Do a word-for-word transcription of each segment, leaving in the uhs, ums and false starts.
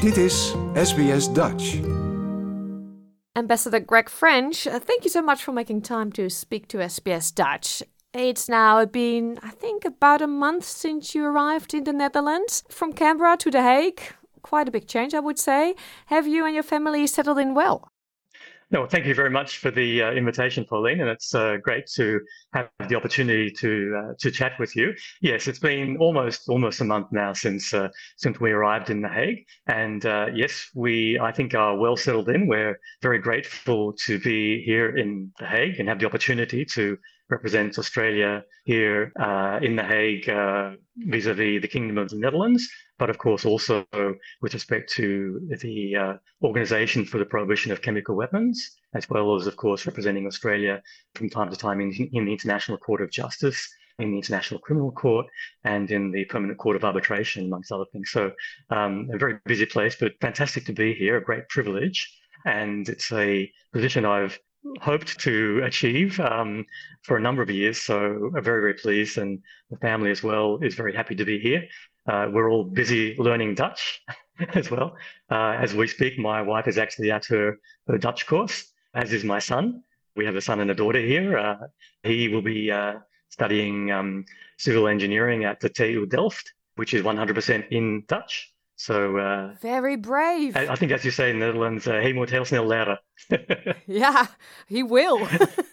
Dit is S B S Dutch. Ambassador Greg French, uh, thank you so much for making time to speak to S B S Dutch. It's now been, I think, about a month since you arrived in the Netherlands. From Canberra to The Hague, quite a big change, I would say. Have you and your family settled in well? No, thank you very much for the uh, invitation, Pauline, and it's uh, great to have the opportunity to uh, to chat with you. Yes, it's been almost almost a month now since uh, since we arrived in The Hague, and uh, yes, we I think are well settled in. We're very grateful to be here in The Hague and have the opportunity to represent Australia here uh, in The Hague uh, vis-a-vis the Kingdom of the Netherlands, but of course also with respect to the uh, Organisation for the Prohibition of Chemical Weapons, as well as, of course, representing Australia from time to time in, in the International Court of Justice, in the International Criminal Court, and in the Permanent Court of Arbitration, amongst other things. So um, a very busy place, but fantastic to be here, a great privilege. And it's a position I've hoped to achieve um, for a number of years. So I'm very, very pleased, and the family as well is very happy to be here. Uh, we're all busy learning Dutch as well. Uh, as we speak, my wife is actually at her, her Dutch course, as is my son. We have a son and a daughter here. Uh, he will be uh, studying um, civil engineering at the T U Delft, which is one hundred percent in Dutch. So uh, very brave. I, I think, as you say in the Netherlands, uh, he moet heel snel leren. Yeah, he will.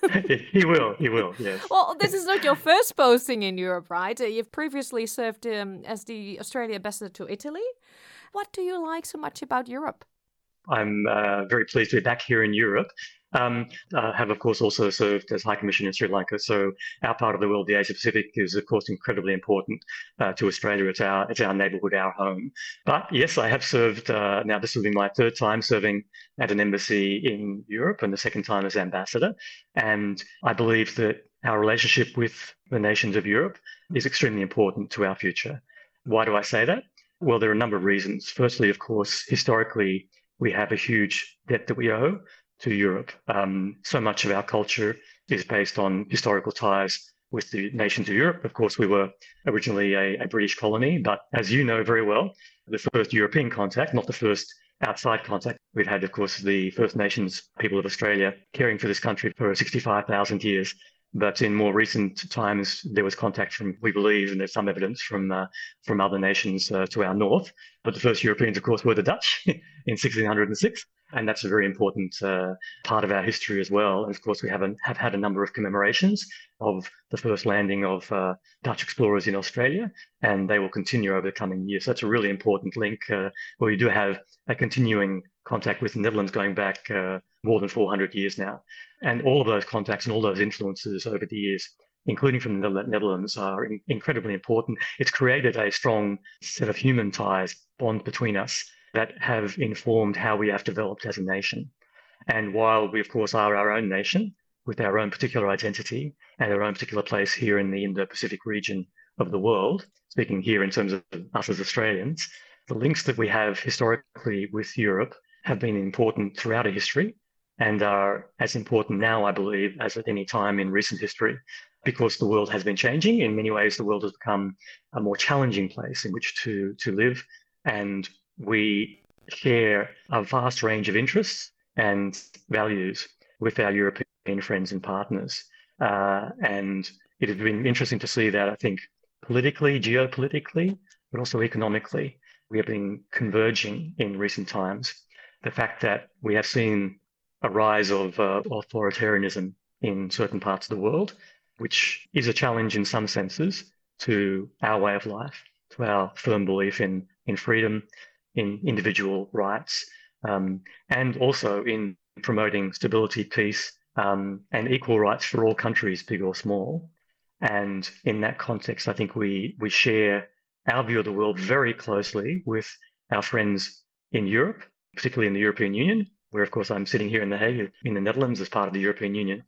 he will, he will, yes. Well, this is not your first posting in Europe, right? Uh, you've previously served um, as the Australia ambassador to Italy. What do you like so much about Europe? I'm uh, very pleased to be back here in Europe. Um, I have, of course, also served as High Commissioner in Sri Lanka. So our part of the world, the Asia Pacific, is, of course, incredibly important uh, to Australia. It's our, it's our neighbourhood, our home. But yes, I have served, uh, now this will be my third time serving at an embassy in Europe, and the second time as ambassador. And I believe that our relationship with the nations of Europe is extremely important to our future. Why do I say that? Well, there are a number of reasons. Firstly, of course, historically, we have a huge debt that we owe to Europe. Um, so much of our culture is based on historical ties with the nations of Europe. Of course, we were originally a, a British colony, but as you know very well, the first European contact, not the first outside contact. We've had, of course, the First Nations people of Australia caring for this country for sixty-five thousand years. But in more recent times, there was contact from, we believe, and there's some evidence from uh, from other nations uh, to our north. But the first Europeans, of course, were the Dutch in sixteen oh six. And that's a very important uh, part of our history as well. And of course, we haven't have had a number of commemorations of the first landing of uh, Dutch explorers in Australia, and they will continue over the coming years. So that's a really important link uh, where we do have a continuing contact with the Netherlands going back uh, more than four hundred years now. And all of those contacts and all those influences over the years, including from the Netherlands, are in- incredibly important. It's created a strong set of human ties, bond between us, that have informed how we have developed as a nation. And while we, of course, are our own nation with our own particular identity and our own particular place here in the Indo-Pacific region of the world, speaking here in terms of us as Australians, the links that we have historically with Europe have been important throughout our history and are as important now, I believe, as at any time in recent history, because the world has been changing. In many ways, the world has become a more challenging place in which to, to live, and we share a vast range of interests and values with our European friends and partners. Uh, and it has been interesting to see that, I think, politically, geopolitically, but also economically, we have been converging in recent times. The fact that we have seen a rise of uh, authoritarianism in certain parts of the world, which is a challenge in some senses to our way of life, to our firm belief in, in freedom, in individual rights, um, and also in promoting stability, peace, um, and equal rights for all countries, big or small. And in that context, I think we we share our view of the world very closely with our friends in Europe, particularly in the European Union, where, of course, I'm sitting here in The Hague, in the Netherlands, as part of the European Union.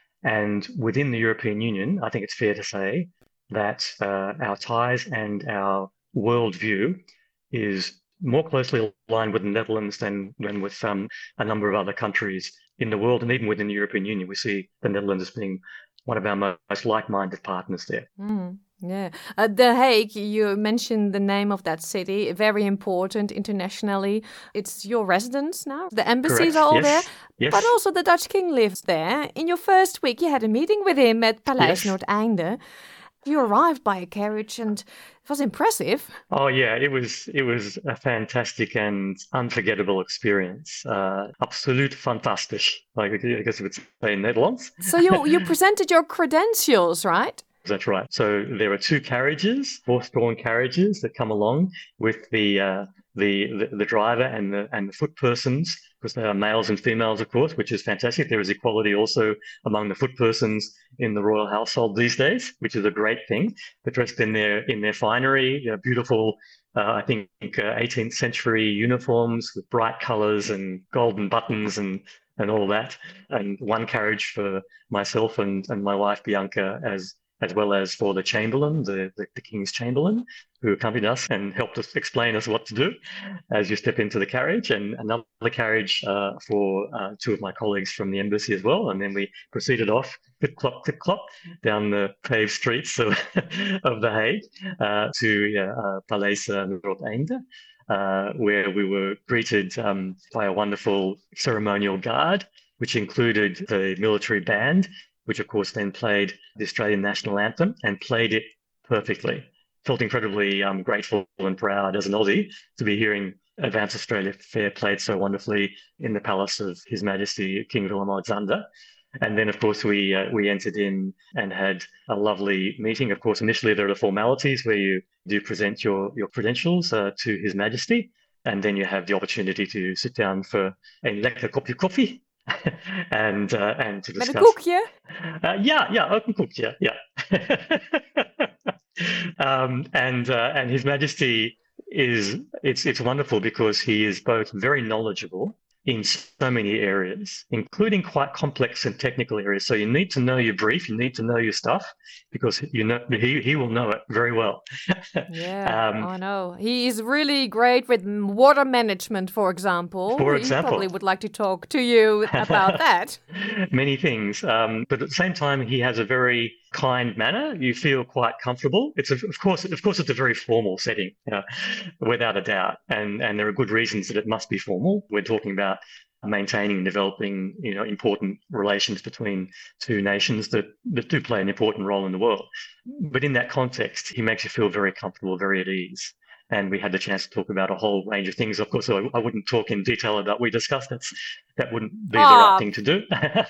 And within the European Union, I think it's fair to say that uh, our ties and our worldview is more closely aligned with the Netherlands than, than with um, a number of other countries in the world. And even within the European Union, we see the Netherlands as being one of our most like-minded partners there. Mm. Yeah. Uh, The Hague, you mentioned the name of that city, very important internationally. It's your residence now. The embassies Correct. are all there, Yes. but Yes. also the Dutch king lives there. In your first week, you had a meeting with him at Paleis Yes. Noordeinde. You arrived by a carriage and it was impressive. Oh yeah, it was it was a fantastic and unforgettable experience. Uh, absoluut fantastisch, like I guess you would say in Netherlands. So you, you presented your credentials, right? That's right. So there are two carriages, horse-drawn carriages that come along with the uh, the, the the driver and the and the foot persons, because they are males and females, of course, which is fantastic. There is equality also among the foot persons in the royal household these days, which is a great thing. They're dressed in their in their finery, you know, beautiful. Uh, I think uh, eighteenth century uniforms with bright colours and golden buttons and and all that. And one carriage for myself and and my wife Bianca as as well as for the Chamberlain, the, the, the King's Chamberlain, who accompanied us and helped us explain us what to do as you step into the carriage, and another carriage uh, for uh, two of my colleagues from the embassy as well. And then we proceeded off, clip clop, clip clop, down the paved streets of, of The Hague uh, to yeah, uh, Paleis Noordeinde, uh, where we were greeted um, by a wonderful ceremonial guard, which included the military band, which of course then played the Australian national anthem and played it perfectly. Felt incredibly um, grateful and proud as an Aussie to be hearing Advance Australia Fair played so wonderfully in the palace of His Majesty King Willem-Alexander. And then, of course, we uh, we entered in and had a lovely meeting. Of course, initially there are the formalities where you do present your, your credentials uh, to His Majesty, and then you have the opportunity to sit down for a lekker kopje koffie. and uh, and to discuss. Met een koekje? Uh, ja, ja, ook een koekje, ja. um, and uh, and His Majesty is it's it's wonderful because he is both very knowledgeable in so many areas, including quite complex and technical areas. So you need to know your brief, you need to know your stuff, because you know he he will know it very well. Yeah, um, I know. He is really great with water management, for example. For he example. probably would like to talk to you about that. Many things, um, but at the same time, he has a very kind manner. You feel quite comfortable. It's a, of course, of course, it's a very formal setting, you know, without a doubt, and and there are good reasons that it must be formal. We're talking about maintaining and developing, you know, important relations between two nations that, that do play an important role in the world. But in that context, he makes you feel very comfortable, very at ease. And we had the chance to talk about a whole range of things. Of course, I, I wouldn't talk in detail about what we discussed. That's, that wouldn't be the Ah. right thing to do.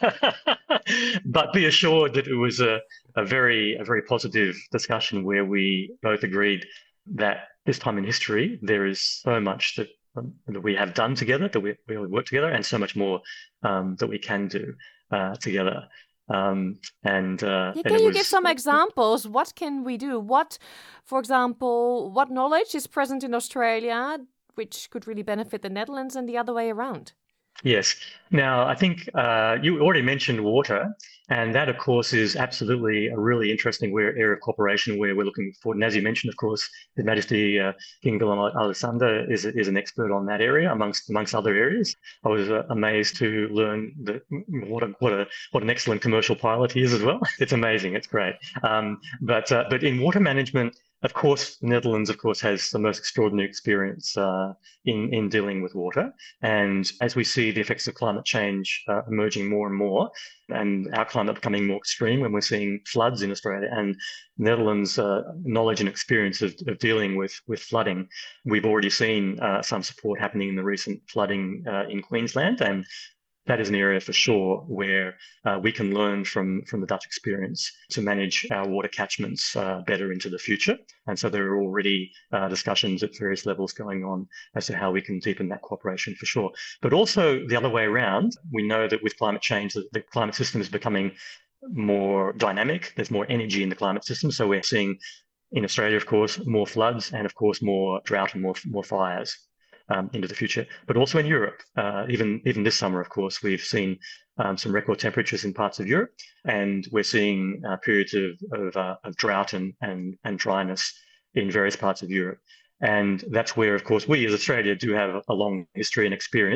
But be assured that it was a, a very a very positive discussion where we both agreed that this time in history, there is so much that, um, that we have done together, that we, we work together, and so much more um, that we can do uh, together. Um, and, uh, Yeah, and can it you was, give some examples? What can we do? What, for example, what knowledge is present in Australia which could really benefit the Netherlands and the other way around? Yes. Now, I think uh, you already mentioned water, and that, of course, is absolutely a really interesting area of cooperation where we're looking forward. And as you mentioned, of course, His Majesty uh, King Willem-Alexander is is an expert on that area, amongst amongst other areas. I was uh, amazed to learn that what a what a what an excellent commercial pilot he is as well. It's amazing. It's great. Um, but uh, but in water management, of course, the Netherlands, of course, has the most extraordinary experience uh, in in dealing with water. And as we see the effects of climate change uh, emerging more and more, and our climate becoming more extreme, when we're seeing floods in Australia, and Netherlands' uh, knowledge and experience of, of dealing with with flooding, we've already seen uh, some support happening in the recent flooding uh, in Queensland, and that is an area for sure where uh, we can learn from, from the Dutch experience to manage our water catchments uh, better into the future. And so there are already uh, discussions at various levels going on as to how we can deepen that cooperation for sure. But also the other way around, we know that with climate change, the, the climate system is becoming more dynamic. There's more energy in the climate system. So we're seeing in Australia, of course, more floods and, of course, more drought and more, more fires. Um, into the future, but also in Europe. Uh, even even this summer, of course, we've seen um, some record temperatures in parts of Europe, and we're seeing uh, periods of of, uh, of drought and, and and dryness in various parts of Europe. And that's where, of course, we as Australia do have a long history and experience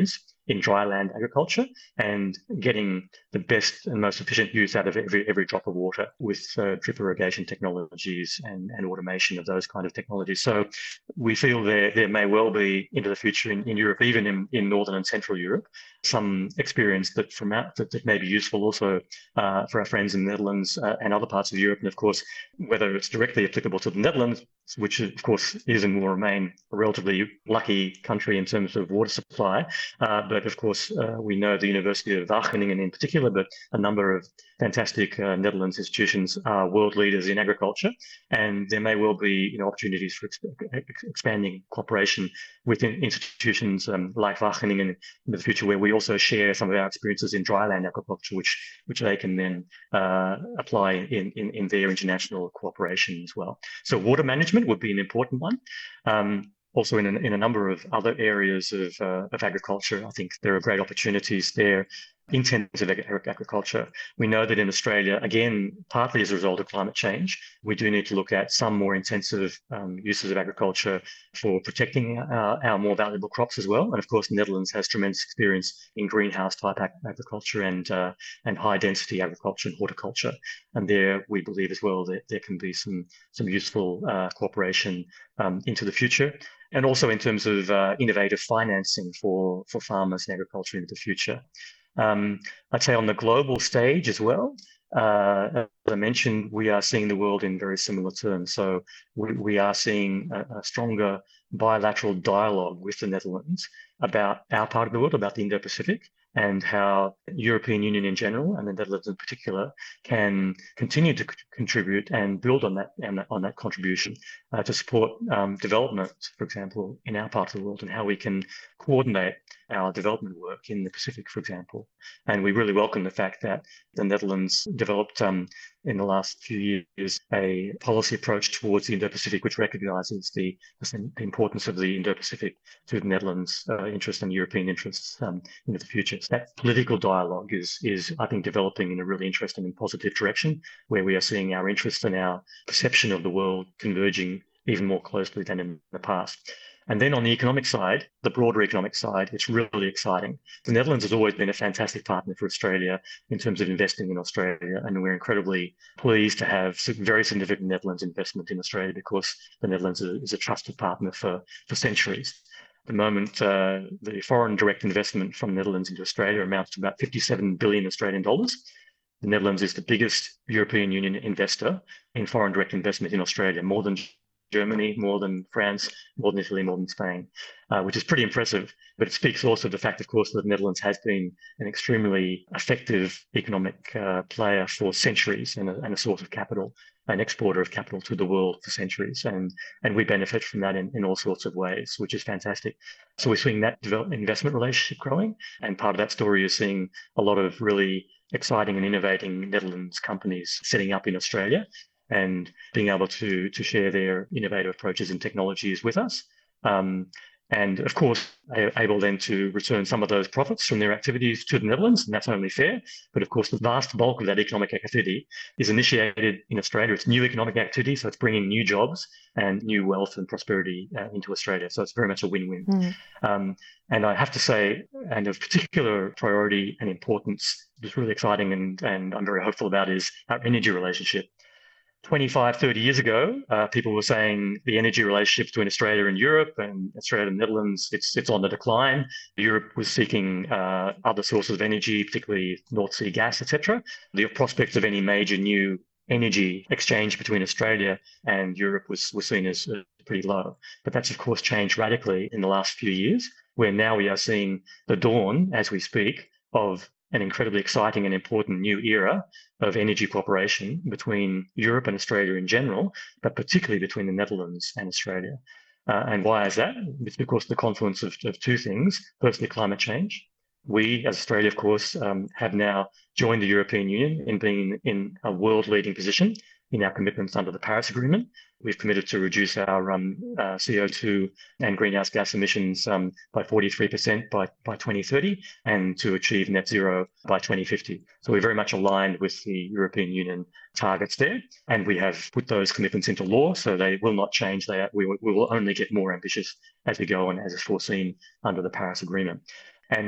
in dryland agriculture and getting the best and most efficient use out of every every drop of water with uh, drip irrigation technologies and, and automation of those kind of technologies. So we feel there there may well be into the future in, in Europe, even in, in Northern and Central Europe, some experience that from out that, that may be useful also uh, for our friends in the Netherlands uh, and other parts of Europe. And of course, whether it's directly applicable to the Netherlands, which of course is and will remain a relatively lucky country in terms of water supply. Uh, but of course, uh, we know the University of Wageningen in particular, but a number of fantastic uh, Netherlands institutions are world leaders in agriculture. And there may well be you know, opportunities for exp- expanding cooperation within institutions um, like Wageningen in the future, where we also share some of our experiences in dryland agriculture, which which they can then uh, apply in, in, in their international cooperation as well. So water management would be an important one. Um, also in a, in a number of other areas of, uh, of agriculture, I think there are great opportunities there. Intensive agriculture. We know that in Australia, again, partly as a result of climate change, we do need to look at some more intensive um, uses of agriculture for protecting our, our more valuable crops as well. And of course, the Netherlands has tremendous experience in greenhouse type ag- agriculture and uh, and high density agriculture and horticulture. And there, we believe as well that there can be some some useful uh, cooperation um, into the future. And also in terms of uh, innovative financing for for farmers and agriculture into the future. Um, I'd say on the global stage as well, uh, as I mentioned, we are seeing the world in very similar terms. So we, we are seeing a, a stronger bilateral dialogue with the Netherlands about our part of the world, about the Indo-Pacific, and how the European Union in general, and the Netherlands in particular, can continue to c- contribute and build on that on that, on that contribution uh, to support um, development, for example, in our part of the world, and how we can coordinate our development work in the Pacific, for example. And we really welcome the fact that the Netherlands developed um, in the last few years a policy approach towards the Indo-Pacific, which recognizes the, the importance of the Indo-Pacific to the Netherlands' uh, interest and European interests um, into the future. So that political dialogue is, is, I think, developing in a really interesting and positive direction, where we are seeing our interest and our perception of the world converging even more closely than in the past. And then on the economic side, the broader economic side, it's really exciting. The Netherlands has always been a fantastic partner for Australia in terms of investing in Australia. And we're incredibly pleased to have very significant Netherlands investment in Australia, because the Netherlands is a trusted partner for, for centuries. At the moment, uh, the foreign direct investment from the Netherlands into Australia amounts to about fifty-seven billion Australian dollars. The Netherlands is the biggest European Union investor in foreign direct investment in Australia, more than Germany, more than France, more than Italy, more than Spain, uh, which is pretty impressive. But it speaks also to the fact, of course, that the Netherlands has been an extremely effective economic uh, player for centuries and a, and a source of capital, an exporter of capital to the world for centuries. And, and we benefit from that in, in all sorts of ways, which is fantastic. So we're seeing that develop, investment relationship growing. And part of that story is seeing a lot of really exciting and innovating Netherlands companies setting up in Australia and being able to to share their innovative approaches and technologies with us. Um, and of course, able then to return some of those profits from their activities to the Netherlands, and that's only fair. But of course, the vast bulk of that economic activity is initiated in Australia. It's new economic activity, so it's bringing new jobs and new wealth and prosperity uh, into Australia. So it's very much a win-win. Mm. Um, and I have to say, and of particular priority and importance, what's really exciting and, and I'm very hopeful about, is our energy relationship. twenty-five, thirty years ago, uh, people were saying the energy relationship between Australia and Europe and Australia and the Netherlands, it's it's on the decline. Europe was seeking uh, other sources of energy, particularly North Sea gas, et cetera. The prospects of any major new energy exchange between Australia and Europe was, was seen as uh, pretty low. But that's, of course, changed radically in the last few years, where now we are seeing the dawn, as we speak, of an incredibly exciting and important new era of energy cooperation between Europe and Australia in general, but particularly between the Netherlands and Australia. Uh, and why is that? It's because of the confluence of, of two things. Firstly, climate change. We, as Australia, of course, um, have now joined the European Union in being in a world-leading position in our commitments under the Paris Agreement. We've committed to reduce our um, uh, C O two and greenhouse gas emissions um, by forty-three percent by, by twenty thirty and to achieve net zero by twenty fifty. So we're very much aligned with the European Union targets there. And we have put those commitments into law, so they will not change. They, we, we will only get more ambitious as we go on, as is foreseen under the Paris Agreement. And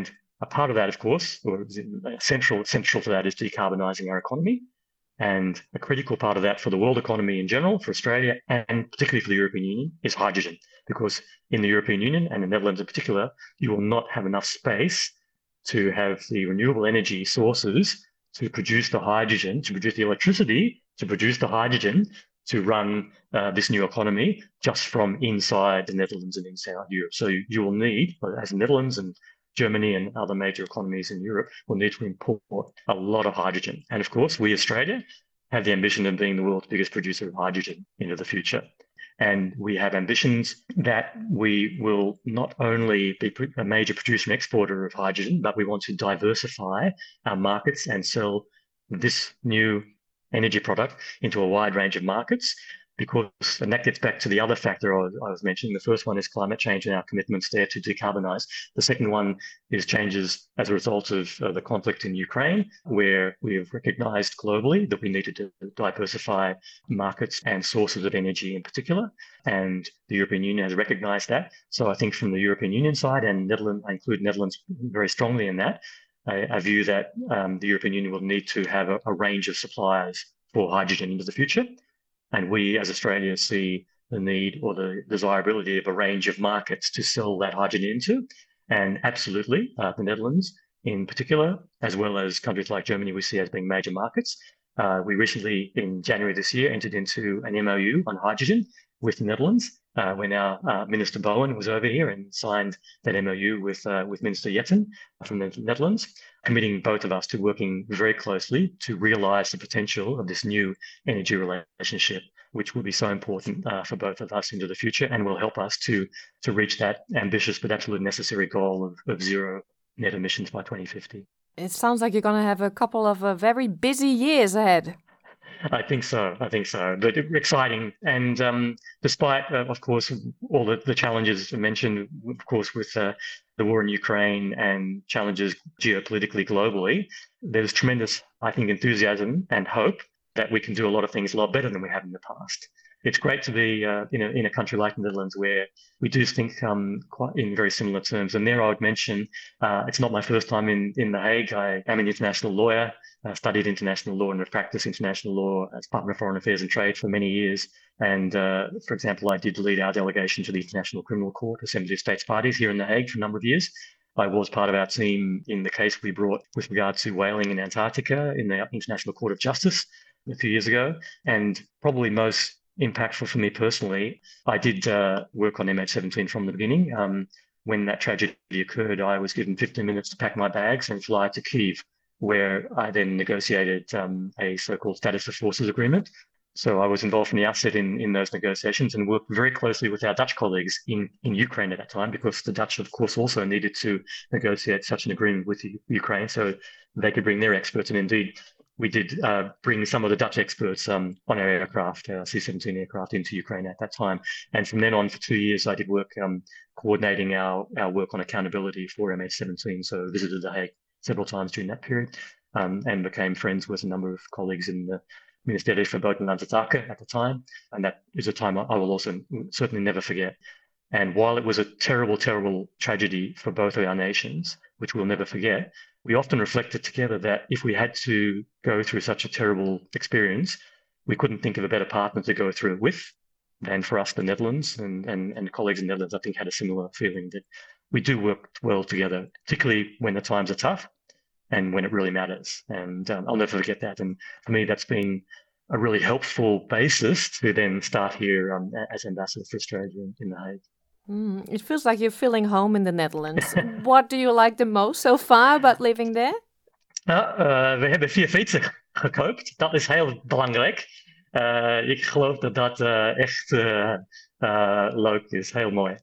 A part of that, of course, or central, central to that is decarbonising our economy. And a critical part of that for the world economy in general, for Australia, and particularly for the European Union, is hydrogen. Because in the European Union, and the Netherlands in particular, you will not have enough space to have the renewable energy sources to produce the hydrogen, to produce the electricity, to produce the hydrogen, to run uh, this new economy just from inside the Netherlands and inside Europe. So you, you will need, as the Netherlands and Germany and other major economies in Europe, will need to import a lot of hydrogen. And of course, we, Australia, have the ambition of being the world's biggest producer of hydrogen into the future. And we have ambitions that we will not only be a major producer and exporter of hydrogen, but we want to diversify our markets and sell this new energy product into a wide range of markets. Because, and that gets back to the other factor I was, I was mentioning. The first one is climate change and our commitments there to decarbonize. The second one is changes as a result of uh, the conflict in Ukraine, where we have recognized globally that we needed to diversify markets and sources of energy in particular. And the European Union has recognized that. So I think from the European Union side, and Netherlands, I include Netherlands very strongly in that, I, I view that um, the European Union will need to have a, a range of suppliers for hydrogen into the future. And we, as Australia, see the need or the desirability of a range of markets to sell that hydrogen into. And absolutely, uh, the Netherlands in particular, as well as countries like Germany, we see as being major markets. Uh, we recently, in January this year, entered into an M O U on hydrogen with the Netherlands, uh, when our uh, Minister Bowen was over here and signed that M O U with uh, with Minister Jetten from the Netherlands, committing both of us to working very closely to realise the potential of this new energy relationship, which will be so important uh, for both of us into the future and will help us to to reach that ambitious but absolutely necessary goal of, of zero net emissions by twenty fifty. It sounds like you're going to have a couple of uh, very busy years ahead. I think so. I think so. But exciting. And um, despite, uh, of course, all the, the challenges mentioned, of course, with uh, the war in Ukraine and challenges geopolitically globally, there's tremendous, I think, enthusiasm and hope that we can do a lot of things a lot better than we have in the past. It's great to be uh, in, a, in a country like the Netherlands where we do think um, quite in very similar terms. And there I would mention, uh, it's not my first time in, in The Hague. I am an international lawyer. I studied international law and have practiced international law as Department of Foreign Affairs and Trade for many years. And uh, for example, I did lead our delegation to the International Criminal Court, Assembly of States Parties here in The Hague for a number of years. I was part of our team in the case we brought with regard to whaling in Antarctica in the International Court of Justice a few years ago. And probably most impactful for me personally, I did uh, work on M H seventeen from the beginning. Um, when that tragedy occurred, I was given fifteen minutes to pack my bags and fly to Kyiv, where I then negotiated um, a so-called status of forces agreement. So I was involved from the outset in, in those negotiations and worked very closely with our Dutch colleagues in, in Ukraine at that time, because the Dutch, of course, also needed to negotiate such an agreement with Ukraine so they could bring their experts. And indeed, we did uh, bring some of the Dutch experts um, on our aircraft, uh, C seventeen aircraft, into Ukraine at that time. And from then on, for two years, I did work um, coordinating our, our work on accountability for M H seventeen. So I visited The Hague several times during that period um, and became friends with a number of colleagues in the Ministerie voor Buitenlandse Zaken at the time. And that is a time I will also certainly never forget. And while it was a terrible, terrible tragedy for both of our nations, which we'll never forget, we often reflected together that if we had to go through such a terrible experience, we couldn't think of a better partner to go through it with than for us, the Netherlands, and, and, and colleagues in the Netherlands, I think, had a similar feeling that we do work well together, particularly when the times are tough and when it really matters. And um, I'll never forget that. And for me, that's been a really helpful basis to then start here um, as ambassador for Australia in, in The Hague. Mm, it feels like you're feeling home in the Netherlands. What do you like the most so far about living there? Nou, uh, we hebben vier fietsen gekoopt. Dat is heel belangrijk. Uh, ik geloof dat dat uh, echt uh, uh, leuk is. Heel mooi.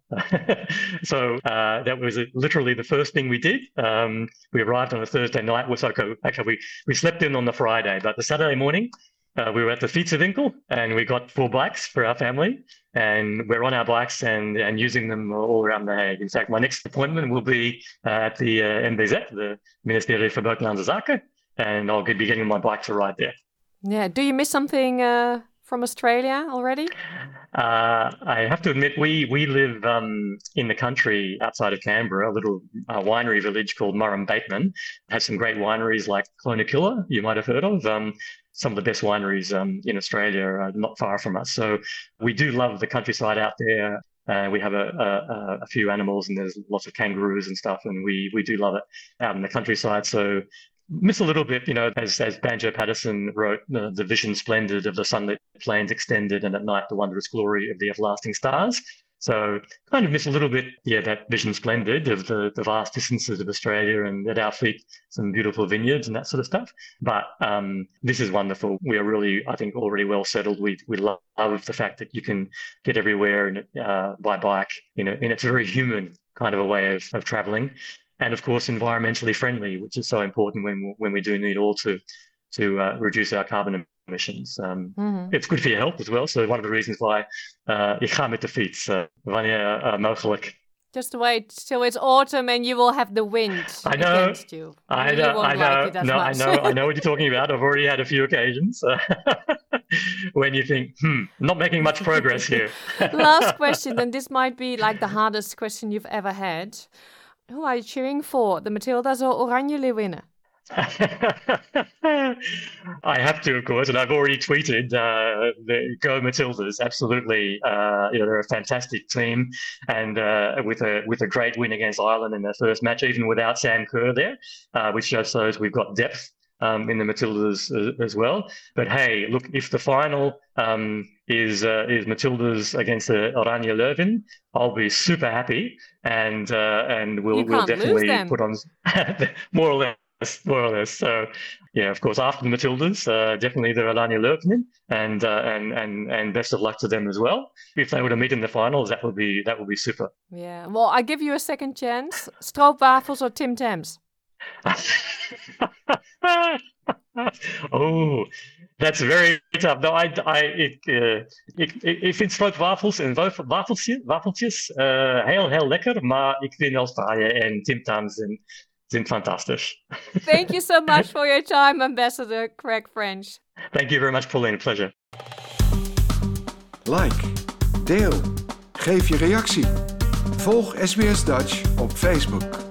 So uh, that was literally the first thing we did. Um, we arrived on a Thursday night. Was okay. Actually, we, we slept in on the Friday, but the Saturday morning, Uh, we were at the fietsenwinkel and we got four bikes for our family, and we're on our bikes and, and using them all around The Hague. In fact, my next appointment will be uh, at the uh, M B Z, the Ministerie voor Buitenlandse Zaken, and I'll be getting my bike to ride there. Yeah. Do you miss something uh, from Australia already? Uh, I have to admit, we we live um, in the country outside of Canberra, a little uh, winery village called Murrum Bateman. It has some great wineries like Clonakilla, you might have heard of. Um, some of the best wineries um, in Australia are not far from us. So we do love the countryside out there. Uh, we have a, a, a few animals, and there's lots of kangaroos and stuff, and we we do love it out in the countryside. So miss a little bit, you know, as as Banjo Paterson wrote, uh, the vision splendid of the sunlit plains extended, and at night the wondrous glory of the everlasting stars. So kind of miss a little bit, yeah, that vision splendid of the, the vast distances of Australia, and at our feet some beautiful vineyards and that sort of stuff. But um, this is wonderful. We are really, I think, already well settled. We we love the fact that you can get everywhere and uh, by bike, you know, and it's a very human kind of a way of, of traveling. And of course, environmentally friendly, which is so important when when we do need all to to uh, reduce our carbon emissions. Um, mm-hmm. It's good for your health as well. So one of the reasons why uh, ik ga met de fiets, uh, wanneer uh, mogelijk. Just wait till it's autumn and you will have the wind I know, against you. I know, you won't I know, like it as no, much. I know, I know what you're talking about. I've already had a few occasions uh, when you think, hmm, not making much progress here. Last question, and this might be like the hardest question you've ever had. Who are you cheering for, the Matildas or Oranje Leeuwinnen? I have to, of course, and I've already tweeted uh, the Go Matildas. Absolutely, uh, you know, they're a fantastic team, and uh, with a with a great win against Ireland in their first match, even without Sam Kerr there, uh, which just shows we've got depth um, in the Matildas as, as well. But hey, look, if the final um, is uh, is Matildas against the Oranje Leuven, I'll be super happy, and uh, and we'll we'll definitely put on more or less. More or less. So, yeah, of course, after the Matildas, uh, definitely the Oranje Leuven, and uh, and and and best of luck to them as well. If they were to meet in the finals, that would be that would be super. Yeah. Well, I give you a second chance. Stroopwafels or Tim Tams? Oh, that's very tough. No, I, I, ik, uh, ik, ik vind stroopwafels en wafeltjes, wafeltjes uh, heel, heel lekker, maar ik vind Australië en Tim Tams en sind fantastisch. Thank you so much for your time, Ambassador Greg French. Thank you very much, Pauline. A pleasure. Like, deel, geef je reactie. Volg S B S Dutch op Facebook.